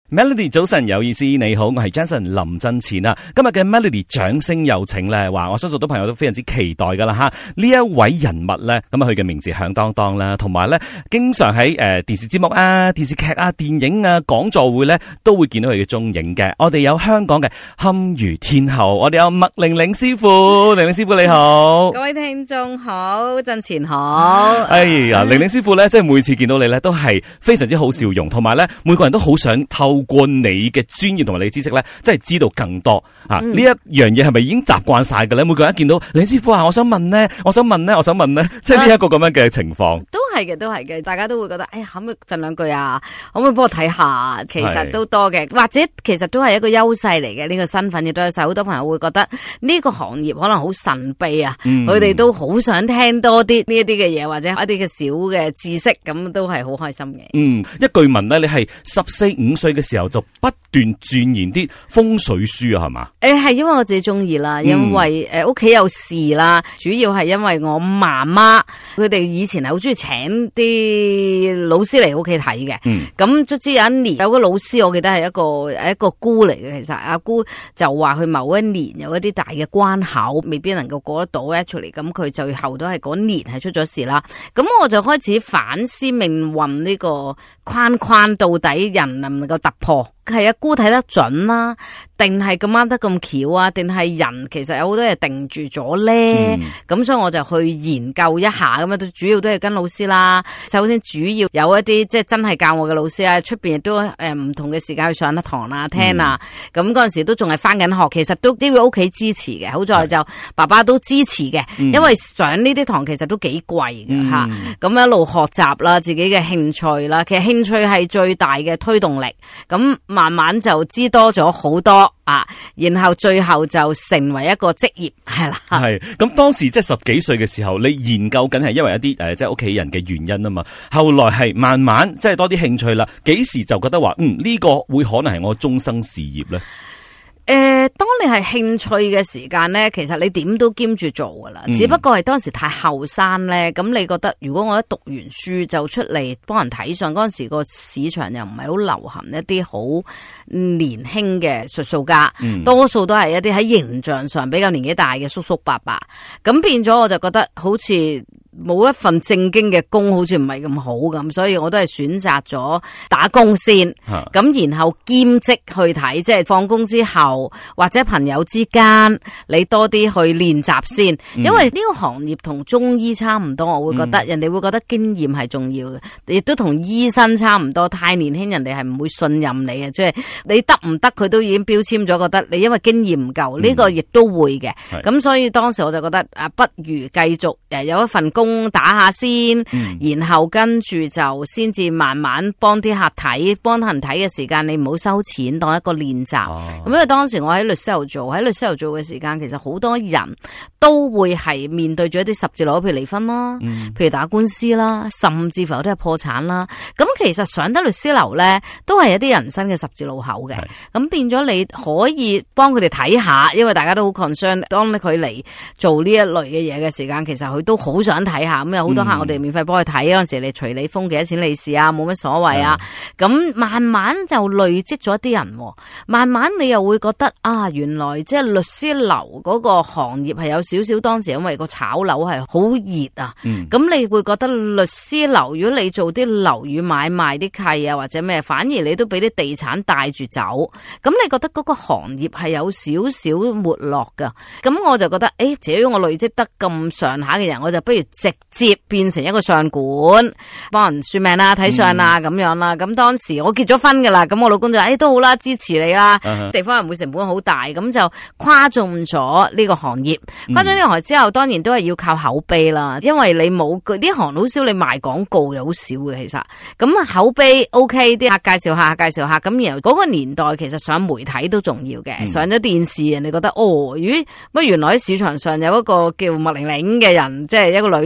Melody 早晨有意思，你好，我係 Jason 林振前啊。今日嘅 Melody 掌聲有請咧，話我相信好多朋友都非常之期待噶啦吓。呢一位人物咧，咁啊佢嘅名字響當當啦，同埋咧經常喺電視節目啊、電視劇啊、電影啊、講座會咧都會見到佢嘅蹤影嘅。我哋有香港嘅堪輿天后，我哋有麥玲玲師傅，玲玲師傅你好， 各位聽眾好，振前好。 哎呀，玲玲師傅咧，即係每次見到你咧，都係非常之好笑容，同埋咧每個人都好想透過你嘅專業同埋你嘅知識咧，即係知道更多啊！呢一樣嘢係咪已經習慣晒嘅咧？每個人一見到李師傅啊，我想問咧，即係呢一個咁樣嘅情況。 都係嘅，大家都會覺得，哎呀，可唔可以贈兩句啊？可唔可以幫我睇下？其實都多嘅，或者其實都係一個優勢嚟嘅。呢個身份亦都有好多朋友會覺得呢個行業可能好神秘啊，佢哋都好想聽多啲呢一啲嘅嘢，或者一啲嘅小嘅知識，咁都係好開心嘅。 一據聞咧，你係14-15歲嘅時候就不斷鑽研啲風水書啊，係嘛？ 係因為我自己中意啦，因為屋企有事啦，主要係因為我媽媽佢哋以前係好中意請啲老師嚟屋企睇嘅。咁卒之有一年有個老師，我記得係一個姑嚟嘅。其實阿姑就話佢某一年有一啲大嘅關口未必能夠過得到 actually， 咁佢最後都係嗰年係出咗事啦。咁我就開始反思命運呢個框到底人能唔能夠突破？係阿姑睇得準啦，定係咁啱得咁巧啊？定係人其實有好多嘢定住咗咧？咁所以我就去研究一下，咁啊主要都係跟老師啦。首先主要有一啲即係真係教我嘅老師啊，出邊亦都唔同嘅時間去上一堂啦、聽啊。咁嗰陣時都仲係翻緊學，其實都要屋企支持嘅。好在就爸爸都支持嘅，因為上呢啲堂其實都幾貴嘅吓。咁一路學習啦，自己嘅興趣啦，其實興趣係最大嘅推動力。咁慢慢就知多咗好多啊，然後最後就成為一個職業係啦。 係咁當時即係10幾歲嘅時候，你研究緊係因為一啲即係屋企人嘅原因啊嘛。後來係慢慢即係多啲興趣啦。幾時就覺得話呢個會可能係我終生事業咧？ 當你係興趣嘅時間咧，其實你點都兼住做噶啦，只不過係當時太後生咧。咁你覺得如果我一讀完書就出嚟幫人睇相，嗰陣時個市場又唔係好流行一啲好年輕嘅術數家，多數都係一啲喺形象上比較年紀大嘅叔叔伯伯。咁變咗我就覺得好似冇一份正經嘅工，好似唔係咁好咁，所以我都係選擇咗打工先，咁然後兼職去睇，即係放工之後或者朋友之間，你多啲去練習先。因為呢個行業同中醫差唔多，我會覺得人哋會覺得經驗係重要嘅，亦都同醫生差唔多。太年輕人哋係唔會信任你嘅，即係你得唔得佢都已經標籤咗，覺得你因為經驗唔夠，呢個亦都會嘅。咁所以當時我就覺得不如繼續有一份工打下先，然後跟住就先至慢慢幫啲客睇，幫人睇嘅時間你唔好收錢，當一個練習。咁因為當時我喺律師樓做嘅時間，其實好多人都會係面對住一啲十字路，譬如離婚啦，譬如打官司啦，甚至乎有啲係破產啦。咁其實上得律師樓咧，都係一啲人生嘅十字路口嘅。咁變咗你可以幫佢哋睇下，因為大家都好 concern，當佢嚟做呢一類嘅嘢嘅時間，其實佢都好想睇下。咁有好多客我哋免費幫佢睇，嗰陣時你隨你封幾多錢利是啊，冇乜所謂啊。咁慢慢就累積咗一啲人，慢慢你又會覺得原來即係律師樓嗰個行業係有少少，當時因為個炒樓係好熱啊。咁你會覺得律師樓，如果你做啲樓宇買賣啲契啊或者咩，反而你都俾啲地產帶住走。咁你覺得嗰個行業係有少少沒落噶。咁我就覺得只要我累積得咁上下嘅人，我就不如直接變成一個相館，幫人算命啦、睇相啦咁樣啦。咁當時我結咗婚噶啦，咁我老公就都好啦，支持你啦。地方人會成本好大，咁就跨中咗呢個行業。跨咗呢個行業之後，當然都係要靠口碑啦。因為你冇呢行好少，你賣廣告又好少嘅其實。咁口碑 OK， 啲客介紹下，咁然後嗰個年代其實上媒體都重要嘅，上咗電視，人哋覺得原來喺市場上有一個叫麥玲玲嘅人，即係一個女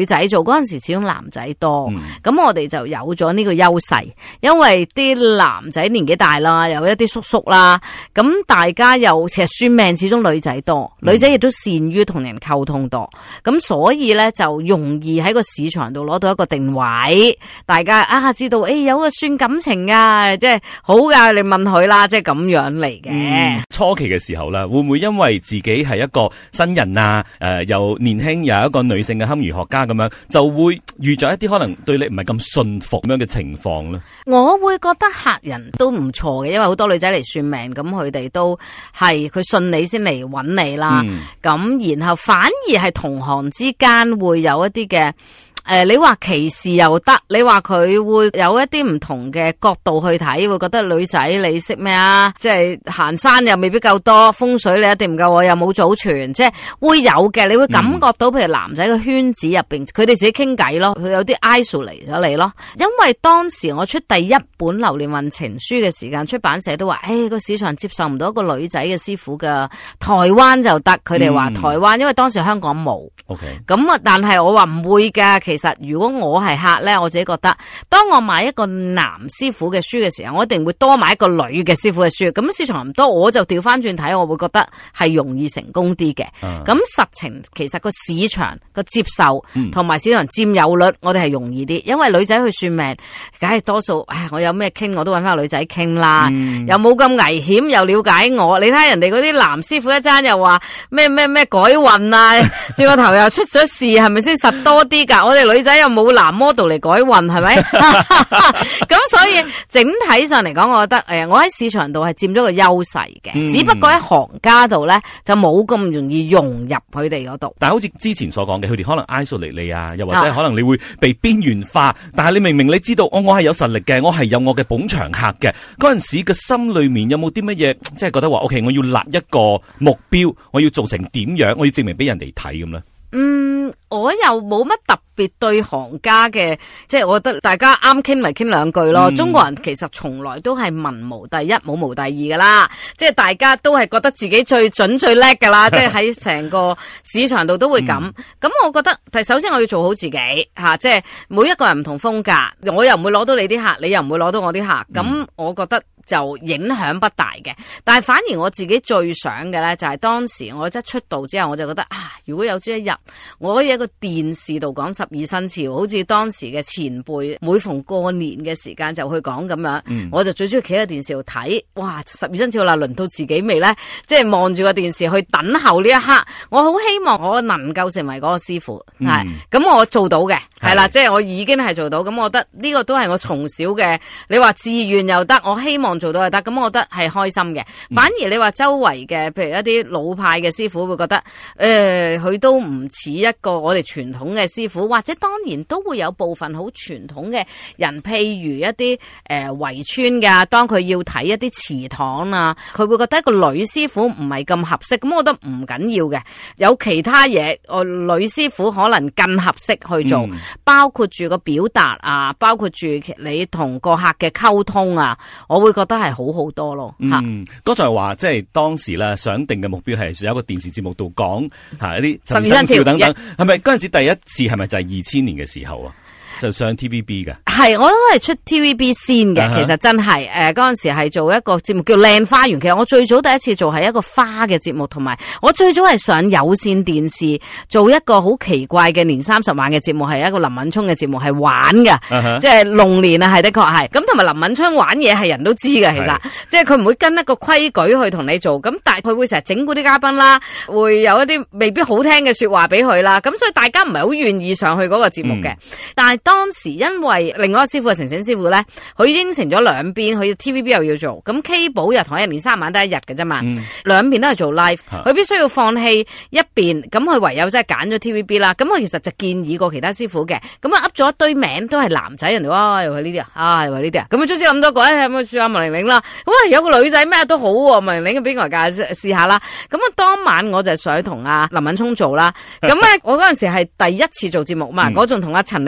女仔做嗰陣時，始終男仔多，咁我哋就有咗呢個優勢，因為啲男仔年紀大啦，有一啲叔叔啦，咁大家又其實算命始終女仔多，女仔亦都善於同人溝通多，咁所以咧就容易喺個市場度攞到一個定位，大家知道有個算感情啊，即係好噶，你問佢啦，即係咁樣嚟嘅。 初期嘅時候咧，會唔會因為自己係一個新人啊，又年輕又有一個女性嘅堪輿學家咁樣，就會遇着一啲可能對你唔係咁信服咁樣嘅情況咧？ 我會覺得客人都唔錯嘅，因為好多女仔嚟算命，咁佢哋都係佢信你先嚟揾你啦。咁然後反而係同行之間會有一啲嘅。你話歧視又得，你話佢會有一啲唔同嘅角度去睇，會覺得女仔你識咩啊？即係行山又未必夠多，風水你一定唔夠，我又冇祖傳，即係會有嘅。你會感覺到，譬如男仔嘅圈子入邊，佢哋自己傾偈咯，佢有啲 isolate 咗你咯。因為當時我出第一本流年運程書嘅時間，出版社都話，個市場接受唔到一個女仔嘅師傅㗎，台灣就得。佢哋話台灣，因為當時香港冇。OK。咁啊，但係我話唔會㗎。其實如果我係客咧，我自己覺得，當我買一個男師傅嘅書嘅時候，我一定會多買一個女嘅師傅嘅書。咁市場唔多，我就調翻轉睇，我會覺得係容易成功啲嘅。咁實情其實個市場個接受同埋市場佔有率，我哋係容易啲，因為女仔去算命，梗係多數，我有咩傾我都揾翻個女仔傾啦，又冇咁危險，又了解我。你睇人哋嗰啲男師傅一爭又話咩改運啊，轉個頭又出咗事，係咪先實多啲㗎？我哋女仔又冇男 model 嚟改運，係咪？咁所以整體上嚟講，我覺得我喺市場度係佔咗個優勢嘅，只不過喺行家度咧就冇咁容易融入佢哋嗰度。 但係好似之前所講嘅，佢哋可能 isolate 你啊，又或者可能你會被邊緣化。但係你明明你知道，我係有實力嘅，我係有我嘅捧場客嘅。嗰陣時嘅心裏面有冇啲乜嘢，即係覺得話 OK， 我要立一個目標，我要做成點樣，我要證明俾人哋睇咁咧？ 我又冇乜特別對行家嘅，即係我覺得大家啱傾咪傾兩句咯。中國人其實從來都係文無第一，武無第二噶啦，即係大家都係覺得自己最準最叻噶啦，即係喺成個市場度都會咁。咁我覺得，首先我要做好自己吓，即係每一個人唔同風格，我又唔會攞到你啲客，你又唔會攞到我啲客，咁我覺得就影響不大嘅。但係反而我自己最想嘅咧，就係當時我一出道之後，我就覺得如果有朝一日我可以喺個電視度講12生肖，好似當時嘅前輩每逢過年嘅時間就去講咁樣，我就最中意企喺電視度睇，哇！12生肖啦，輪到自己未咧？即係望住個電視去等候呢一刻，我好希望我能夠成為嗰個師傅，係咁我做到嘅，係啦，即係我已經係做到，咁我覺得呢個都係我從小嘅，你話志願又得，我希望做到又得，咁我覺得係開心嘅。反而你話周圍嘅，譬如一啲老派嘅師傅會覺得，佢都唔似一個我哋傳統嘅師傅，或者當然都會有部分好傳統嘅人，譬如一啲圍村噶，當佢要睇一啲祠堂啊，佢會覺得一個女師傅唔係咁合適，咁我覺得唔緊要嘅，有其他嘢，女師傅可能更合適去做，包括住個表達啊，包括住你同個客嘅溝通啊，我會覺得係好好多咯。 剛才話即係當時咧想定嘅目標係有一個電視節目度講一啲12生肖等等，係咪嗰陣時第一次係咪就係2000年嘅時候啊？就上 TVB 嘅，係我都係出 TVB 先嘅。其實真係嗰陣時係做一個節目叫靚花園。其實我最早第一次做係一個花嘅節目，同埋我最早係上有線電視做一個好奇怪嘅年30晚嘅節目，係一個林敏聰嘅節目，係玩嘅，即係龍年啊，係的確係。咁同埋林敏聰玩嘢係人都知嘅，其實即係佢唔會跟一個規矩去同你做，咁但係佢會成日整蠱啲嘉賓啦，會有一啲未必好聽嘅說話俾佢啦，咁所以大家唔係好願意上去嗰個節目嘅。但係當時因為另外一個師傅係成成師傅咧，佢應承咗兩邊，佢 TVB 又要做，咁 K 寶又同一年3晚得一日嘅啫嘛，兩邊都係做 live， 佢必須要放棄一邊，咁佢唯有真係揀咗 TVB 啦。咁佢其實就建議過其他師傅嘅，咁啊噏咗一堆名都係男仔，人哋哇又係呢啲啊，又係呢啲啊，咁啊總之咁多個咧，咁啊算阿麥玲玲啦，咁啊有個女仔咩都好喎，麥玲玲嘅邊個介試下啦。咁啊當晚我就想同阿林敏聰做啦，咁咧我嗰陣時係第一次做節目嘛，我仲同阿陳玲麗嗰陣時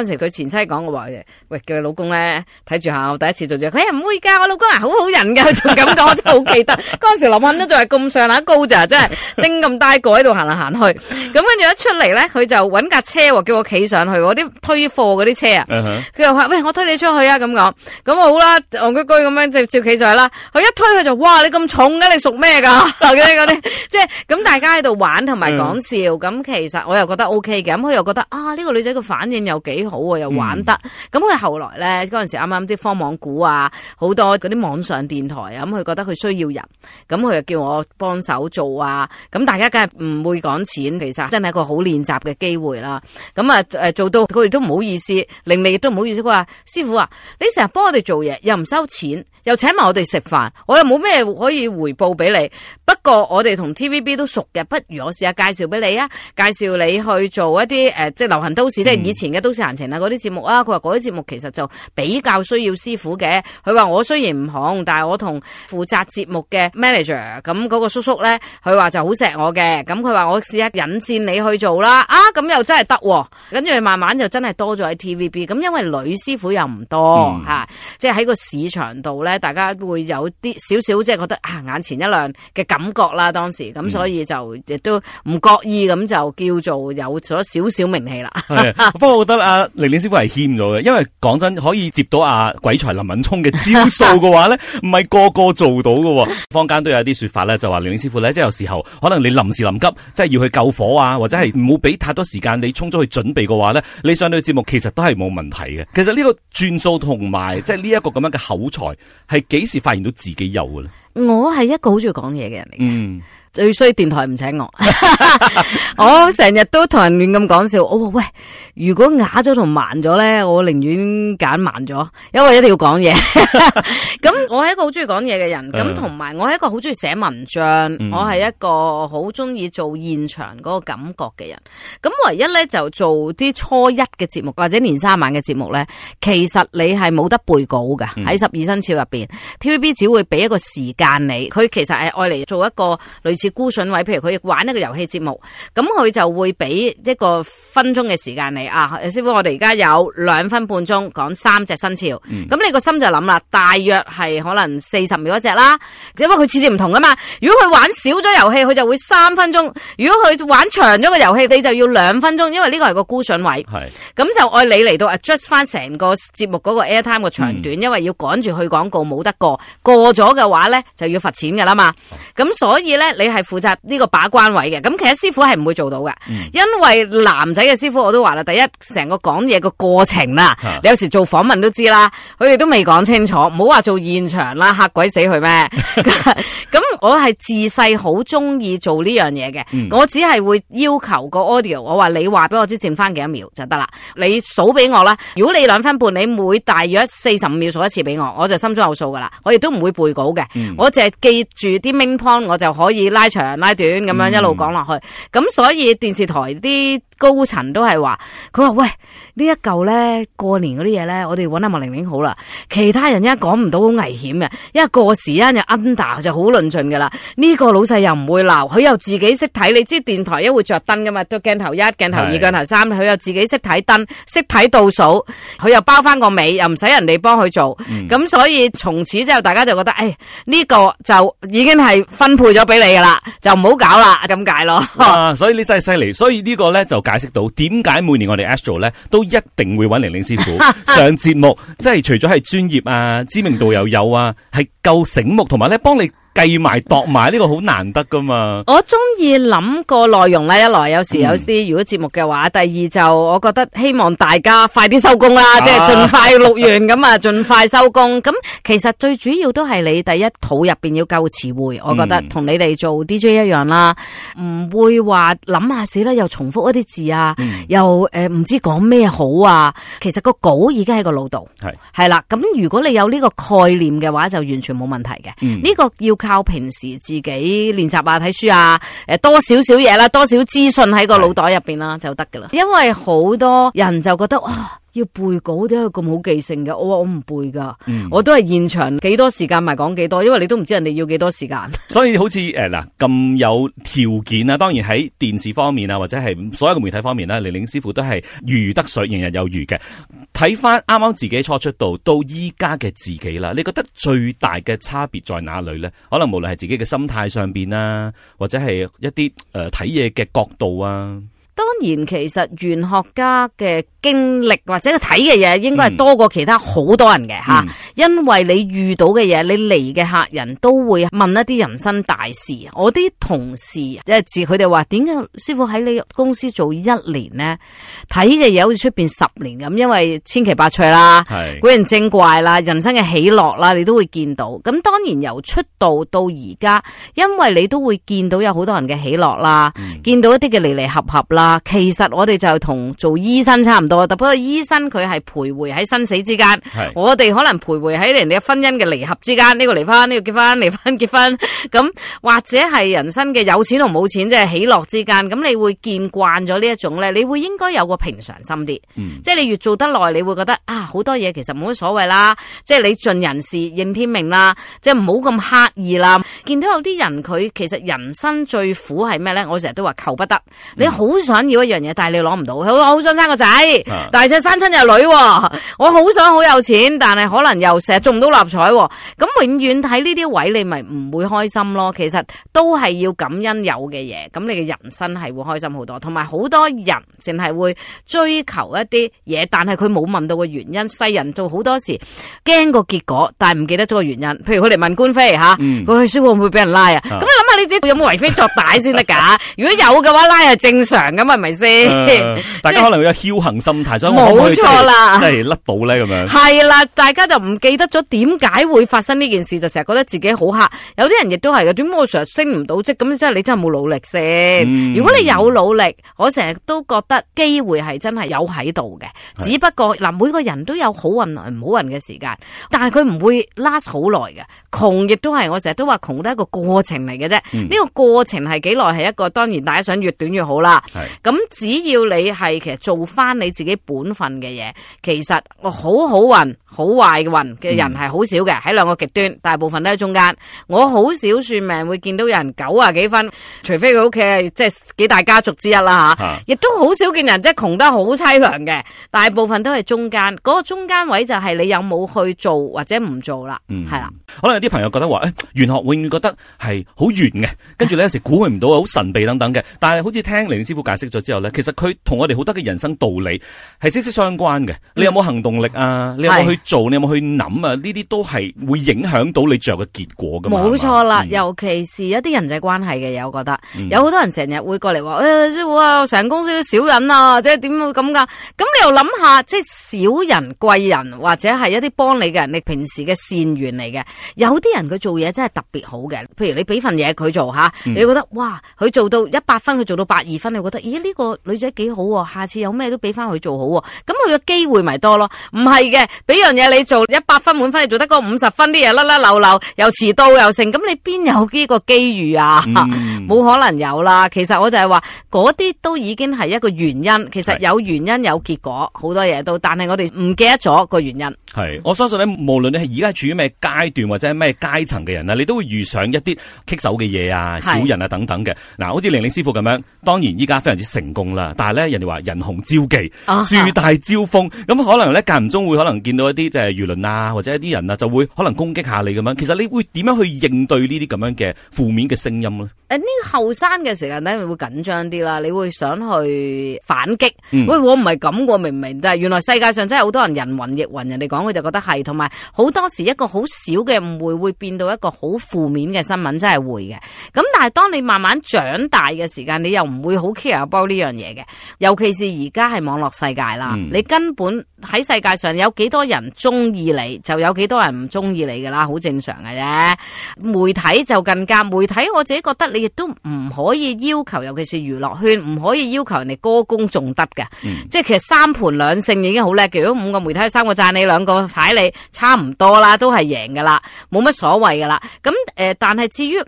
時佢前妻講我話喂，叫佢老公咧睇住下我第一次做嘢，佢唔會㗎，我老公係好好人㗎，佢仲咁講，我真係好記得。嗰陣時林肯都仲係咁上下高咋，真係拎咁大個喺度行嚟行去。咁跟住一出嚟咧，佢就揾架車喎，叫我企上去，嗰啲推貨嗰啲車啊。佢又話喂，我推你出去啊咁講。咁我好啦，戇居居咁樣就照企上去啦。佢一推佢就哇，你咁重嘅，你屬咩㗎？嗰啲即係咁大家喺度玩同埋講笑。咁其實我又覺得 OK 嘅。咁佢又覺得啊，呢個女仔嘅反應又幾好喎，又玩得。咁佢後來咧嗰陣時啱啱啲科網股啊，好多嗰啲網上電台啊，咁佢覺得佢需要人，咁佢就叫我幫手做啊。咁大家梗係唔會講錢，其實真係一個好練習嘅機會啦。咁啊做到佢哋都唔好意思，令你亦都唔好意思。佢話師傅啊，你成日幫我哋做嘢，又唔收錢，又請埋我哋食飯，我又冇咩可以回報俾你。不過我哋同 TVB 都熟嘅，不如我試下介紹俾你啊，介紹你去做一啲即係流行都市，即係以前嘅都市閒情啊嗰啲節目啊。佢話嗰啲節目其實就比較需要師傅嘅。佢話我雖然唔紅，但係我同負責節目嘅 manager 咁嗰個叔叔咧，佢話就好錫我嘅。咁佢話我試下引薦你去做啦。啊，咁又真係得喎。跟住慢慢就真係多咗喺 TVB。咁因為女師傅又唔多吓，即係喺個市場度咧，大家會有啲少少即係覺得啊眼前一亮嘅感覺啦。當時咁所以就亦都唔覺意咁就叫做有咗少少名氣啦。 不過我覺得阿玲玲師傅係欠咗嘅，因為講真可以接到阿鬼才林敏聰嘅招數嘅話咧，唔係個個做到嘅。坊間都有啲說法咧，就話玲玲師傅咧，即係有時候可能你臨時臨急，即係要去救火啊，或者係唔好俾太多時間你衝咗去準備嘅話咧，你上到節目其實都係冇問題嘅。其實呢個轉數同埋即係呢一個咁樣嘅口才，係幾時發現到自己有嘅咧？ 我係一個好中意講嘢嘅人嚟嘅。最衰電台唔請我，我成日都同人亂咁講笑。我話喂，如果啞咗同慢咗咧，我寧願揀慢咗，因為一定要講嘢。咁我係一個好中意講嘢嘅人，咁同埋我係一個好中意寫文章，我係一個好中意做現場嗰個感覺嘅人。咁唯一咧就做啲初一嘅節目或者年三晚嘅節目咧，其實你係冇得背稿㗎。喺12生肖入邊，TVB 只會俾一個時間你，佢其實係愛嚟做一個類似孤筍位，譬如佢玩一個遊戲節目，咁佢就會俾一個分鐘嘅時間你啊，師傅，我哋而家有2分半鐘講3隻生肖，咁你個心就諗啦，大約係可能40秒一隻啦，因為佢次次唔同噶嘛。如果佢玩少咗遊戲，佢就會3分鐘；如果佢玩長咗個遊戲，你就要2分鐘，因為呢個係個孤筍位。咁就愛你嚟到 adjust 翻成個節目嗰個 airtime 嘅長短，因為要趕住去廣告，冇得過咗嘅話咧就要罰錢噶啦嘛。咁所以咧你係負責呢個把關位嘅，咁其實師傅係唔會做到嘅，因為男仔嘅師傅我都話啦，第一成個講嘢個過程啦，你有時做訪問都知啦，佢哋都未講清楚，唔好話做現場啦，嚇鬼死佢咩？咁我係自細好中意做呢樣嘢嘅，我只係會要求個 audio， 我話你話俾我知剩翻幾多秒就得啦，你數俾我啦。如果你2分半，你每大約45秒數一次俾我，我就心中有數噶啦，我亦都唔會背稿嘅，我淨係記住啲 main point，我就可以拉長拉短咁樣一路講落去。咁所以電視台啲高層都係話，佢話喂，呢一嚿咧過年嗰啲嘢咧，我哋揾阿麥玲玲好啦，其他人一講唔到好危險嘅，因為過時間就 under 就好論盡噶啦。呢個老細又唔會鬧，佢又自己識睇，你知電台一會着燈噶嘛，都鏡頭1、鏡頭2、鏡頭3，佢又自己識睇燈，識睇倒數，佢又包翻個尾，又唔使人哋幫佢做。咁所以從此之後，大家就覺得，誒呢個就已經係分配咗俾你噶啦，就唔好搞啦，咁解咯。 所以你真係犀利，所以呢個咧就解釋到點解每年我哋 Astro 咧都一定會揾玲玲師傅上節目，即係除咗係專業啊、知名度又有啊，係夠醒目，同埋咧幫你計埋度埋，呢個好難得噶嘛。 我中意諗個內容咧，一來有時有啲如果節目嘅話，第二就我覺得希望大家快啲收工啦，即係盡快錄完咁啊，盡快收工。咁其實最主要都係你第一肚入邊要夠詞彙，我覺得同你哋做 DJ 一樣啦，唔會話諗下死啦，又重複一啲字啊，又唔知講咩好啊。其實個稿已經喺個腦度，係啦。咁如果你有呢個概念嘅話，就完全冇問題嘅。呢個要靠平時自己練習啊、睇書啊，多少嘢啦，多少資訊喺個腦袋入邊啦就得噶啦。因為好多人就覺得哇， 要背稿點解咁好記性嘅？我話我唔背噶，我都係現場幾多時間咪講幾多，因為你都唔知人哋要幾多時間。 所以好似嗱咁有條件啊，當然喺電視方面啊，或者係所有嘅媒體方面咧，玲玲師傅都係如魚得水，游刃有餘嘅。睇翻啱啱自己初出道到依家嘅自己啦，你覺得最大嘅差別在哪裏咧？可能無論係自己嘅心態上邊啦，或者係一啲睇嘢嘅角度啊。 當然，其實玄學家嘅經歷或者佢睇嘅嘢，應該係多過其他好多人嘅吓，因為你遇到嘅嘢，你嚟嘅客人都會問一啲人生大事。我啲同事即係自佢哋話，點解師傅喺你公司做1年呢？睇嘅嘢好似出邊10年咁，因為千奇百趣啦，古靈精怪啦，人生嘅喜樂啦，你都會見到。咁當然由出道到而家，因為你都會見到有好多人嘅喜樂啦，見到一啲嘅離離合合啦。其實我哋就同做醫生差唔多，不過醫生佢係徘徊喺生死之間，我哋可能徘徊喺人哋嘅婚姻嘅離合之間，呢個離婚，呢個結婚，離婚結婚，咁或者係人生嘅有錢同冇錢，即係喜樂之間。咁你會見慣咗呢一種咧，你會應該有個平常心啲，即係你越做得耐，你會覺得啊，好多嘢其實冇乜所謂啦，即係你盡人事應天命啦，即係唔好咁刻意啦。見到有啲人佢其實人生最苦係咩咧？我成日都話求不得，你好想要一樣嘢，但係你攞唔到。我好想生個仔，但係想生親有女，我好想好有錢，但係可能又成日中唔到六合彩。咁永遠睇呢啲位，你咪唔會開心咯。其實都係要感恩有嘅嘢，咁你嘅人生係會開心好多。同埋好多人淨係會追求一啲嘢，但係佢冇問到個原因。世人做好多時驚個結果，但係唔記得咗個原因。譬如佢嚟問官非吓，佢去書會唔會俾人拉啊？咁你諗下，你自己有冇為非作歹先得噶？如果有嘅話，拉係正常噶嘛，係咪先？ 大家可能會有僥幸心態，所以冇錯啦， 即係甩到咧咁樣。係啦，大家就唔記得咗點解會發生呢件事，就成日覺得自己好黑。有啲人亦都係嘅，點解我成日升唔到職？咁即係你真係冇努力先。如果你有努力，我成日都覺得機會係真係有喺度嘅。只不過嗱，每個人都有好運唔好運嘅時間，但係佢唔會 last 好耐嘅。窮亦都係，我成日都話窮都係一個過程嚟嘅啫。呢個過程係幾耐？係一個當然大家想越短越好啦。咁只要你係其實做翻你自己本分嘅嘢，其實好好運、好壞運嘅人係好少嘅，喺兩個極端，大部分都喺中間。我好少算命會見到有人90幾分，除非佢屋企係即係幾大家族之一啦吓，亦都好少見人即係窮得好淒涼嘅，大部分都係中間。嗰個中間位就係你有冇去做或者唔做啦，係啦。 可能有啲朋友覺得話，玄學永遠覺得係好玄嘅，跟住咧有時估佢唔到，好神秘等等嘅。但係好似聽玲玲師傅解釋咗之後咧，其實佢同我哋好多嘅人生道理係息息相關嘅。你有冇行動力啊？你有冇去做？你有冇去諗啊？呢啲都係會影響到你最後嘅結果噶嘛。 冇錯啦，尤其是一啲人際關係嘅嘢，我覺得有好多人成日會過嚟話，師傅啊，成公司都少人啊，即係點會咁噶？咁你又諗下，即係小人貴人或者係一啲幫你嘅人，你平時嘅善緣嚟嘅。有啲人佢做嘢真係特別好嘅，譬如你俾份嘢佢做吓，你覺得哇，佢做到100分，佢做到82分，你覺得咦呢個女仔幾好喎，下次有咩都俾翻佢做好喎，咁佢嘅機會咪多咯？唔係嘅，俾樣嘢你做100分滿分，你做得嗰50分，啲嘢甩甩漏漏，又遲到又成，咁你邊有呢個機遇啊？冇可能有啦。其實我就係話嗰啲都已經係一個原因，其實有原因有結果，好多嘢都，但係我哋唔記得咗個原因。 係，我相信咧，無論你係而家處於咩階段或者係咩階層嘅人咧，你都會遇上一啲棘手嘅嘢啊、小人啊等等嘅。嗱，好似玲玲師傅咁樣，當然依家非常之成功啦。但係咧，人哋話人紅招忌，樹大招風，咁可能咧間唔中會可能見到一啲即係輿論啊，或者一啲人啊，就會可能攻擊下你咁樣。其實你會點樣去應對呢啲咁樣嘅負面嘅聲音咧？呢後生嘅時間咧會緊張啲啦，你會想去反擊。喂，我唔係咁喎，明唔明？但係原來世界上真係好多人人云亦云，人哋講佢就覺得係，同埋好多時一個好少嘅誤會會變到一個好負面嘅新聞，真係會嘅。咁但係當你慢慢長大嘅時間，你又唔會好 care about 呢樣嘢嘅。尤其是而家係網絡世界啦，你根本喺世界上有幾多人中意你，就有幾多人唔中意你噶啦，好正常嘅啫。媒體就更加，媒體我自己覺得你亦都唔可以要求，尤其是娛樂圈唔可以要求人哋歌功頌德嘅。即係其實3盤兩勝已經好叻嘅。如果5個媒體3個讚你2個踩你，差唔多啦，都係贏噶啦，冇乜所謂噶啦。咁但係至於唔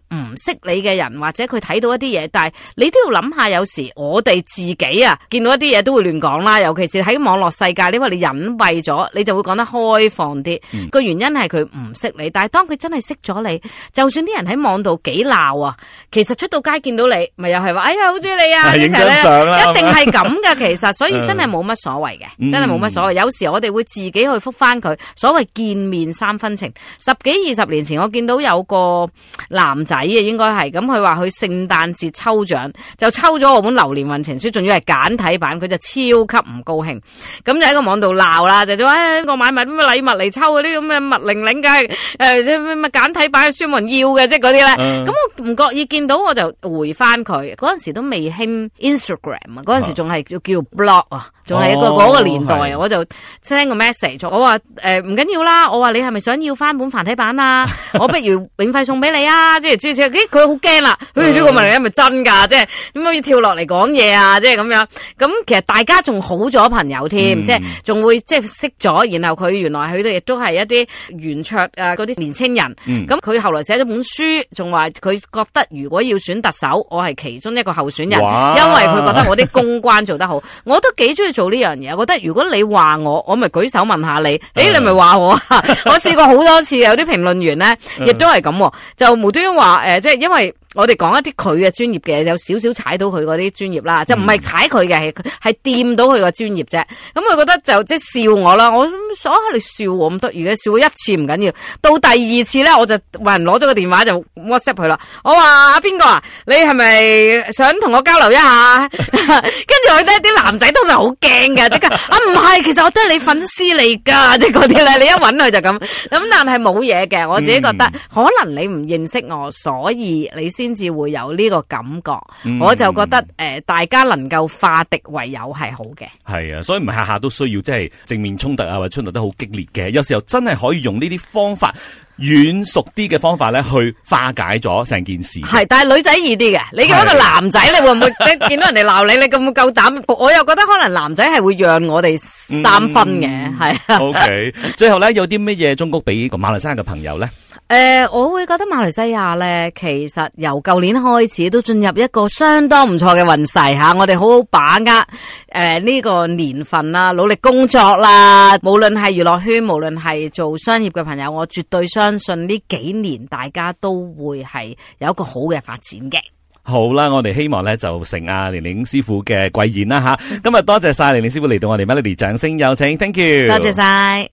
識你嘅人，或者佢睇到一啲嘢，但係你都要諗下，有時我哋自己啊見到一啲嘢都會亂講啦，尤其是喺網絡世界，因為你隱蔽咗，你就會講得開放啲。個原因係佢唔識你，但係當佢真係識咗你，就算啲人喺網度幾鬧啊，其實出到街見到你，咪又係話哎呀好中意你啊， 影張相啦， 一定係咁噶。其實所以真係冇乜所謂嘅，真係冇乜所謂。有時我哋會自己去覆翻佢，所謂見面三分情。10幾20年前我見到有個男仔啊，應該係咁，佢話佢聖誕節抽獎就抽咗我本流年運程書，仲要係簡體版，佢就超級唔高興，咁就喺個網度鬧啦，就話我買埋咩禮物嚟抽嗰啲咁嘅物零零嘅咩簡體版嘅書冇人要嘅，即係嗰啲咧。咁我唔覺意見到我就回翻佢，嗰陣時都未興 Instagram 啊，嗰陣時仲係叫 blog 啊，仲係一個嗰個年代啊，我就 send 個 message， 我話唔緊要啦，我話你係咪想要翻本繁體版啊？我不如免費送俾你啊！即係佢好驚啦，呢個問題係咪真㗎？即係點解要跳落嚟講嘢啊？即係咁樣。咁其實大家仲好咗朋友添，即係仲會即係識咗，然後佢原來佢哋亦都係一啲圓桌啊嗰啲年青人。咁佢後來寫咗本書，仲話佢覺得如果要選特首，我係其中一個候選人，因為佢覺得我啲公關做得好。我都幾中意做呢樣嘢，我覺得如果你話我咪舉手問下你，你咪話我啊？我試過好多次，有啲評論員咧，亦都係咁，就無端端話即係因為我哋講一啲佢嘅專業嘅，有少少踩到佢嗰啲專業啦，就唔係踩佢嘅，係掂到佢個專業啫。咁佢覺得就即係笑我啦，我想你笑我咁得意嘅，笑我一次唔緊要，到第二次咧，我就話人攞咗個電話就 WhatsApp 佢啦。我話阿邊個啊，你係咪想同我交流一下？跟住佢咧啲男仔通常好驚嘅，即刻啊唔係，其實我都係你粉絲嚟噶，即係嗰啲咧，你一搵佢就咁。咁但係冇嘢嘅，我自己覺得可能你唔認識我，所以你先至會有呢個感覺。我就覺得大家能夠化敵為友係好嘅。係啊，所以唔係下下都需要即係正面衝突啊，或者衝突得好激烈嘅。有時候真係可以用呢啲方法，軟熟啲嘅方法咧，去化解咗成件事。係，但係女仔易啲嘅。你叫一個男仔，你會唔會見到人哋鬧你，你咁夠膽？我又覺得可能男仔係會讓我哋3分嘅。係啊。OK， 最後咧有啲乜嘢忠告俾個馬來西亞嘅朋友咧？我會覺得馬來西亞咧，其實由舊年開始都進入一個相當唔錯嘅運勢吓，我哋好好把握呢個年份啦，努力工作啦，無論係娛樂圈，無論係做商業嘅朋友，我絕對相信呢幾年大家都會係有一個好嘅發展嘅。好啦，我哋希望咧就成阿玲玲師傅嘅貴言啦吓。今日多謝晒玲玲師傅嚟到我哋 Melody， 掌聲有請 ，Thank you， 多謝晒。